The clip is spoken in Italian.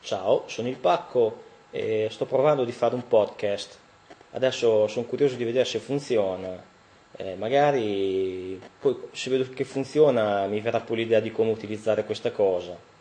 Ciao, sono il Pacco e sto provando di fare un podcast. Adesso sono curioso di vedere se funziona. Magari poi se vedo che funziona mi verrà poi l'idea di come utilizzare questa cosa.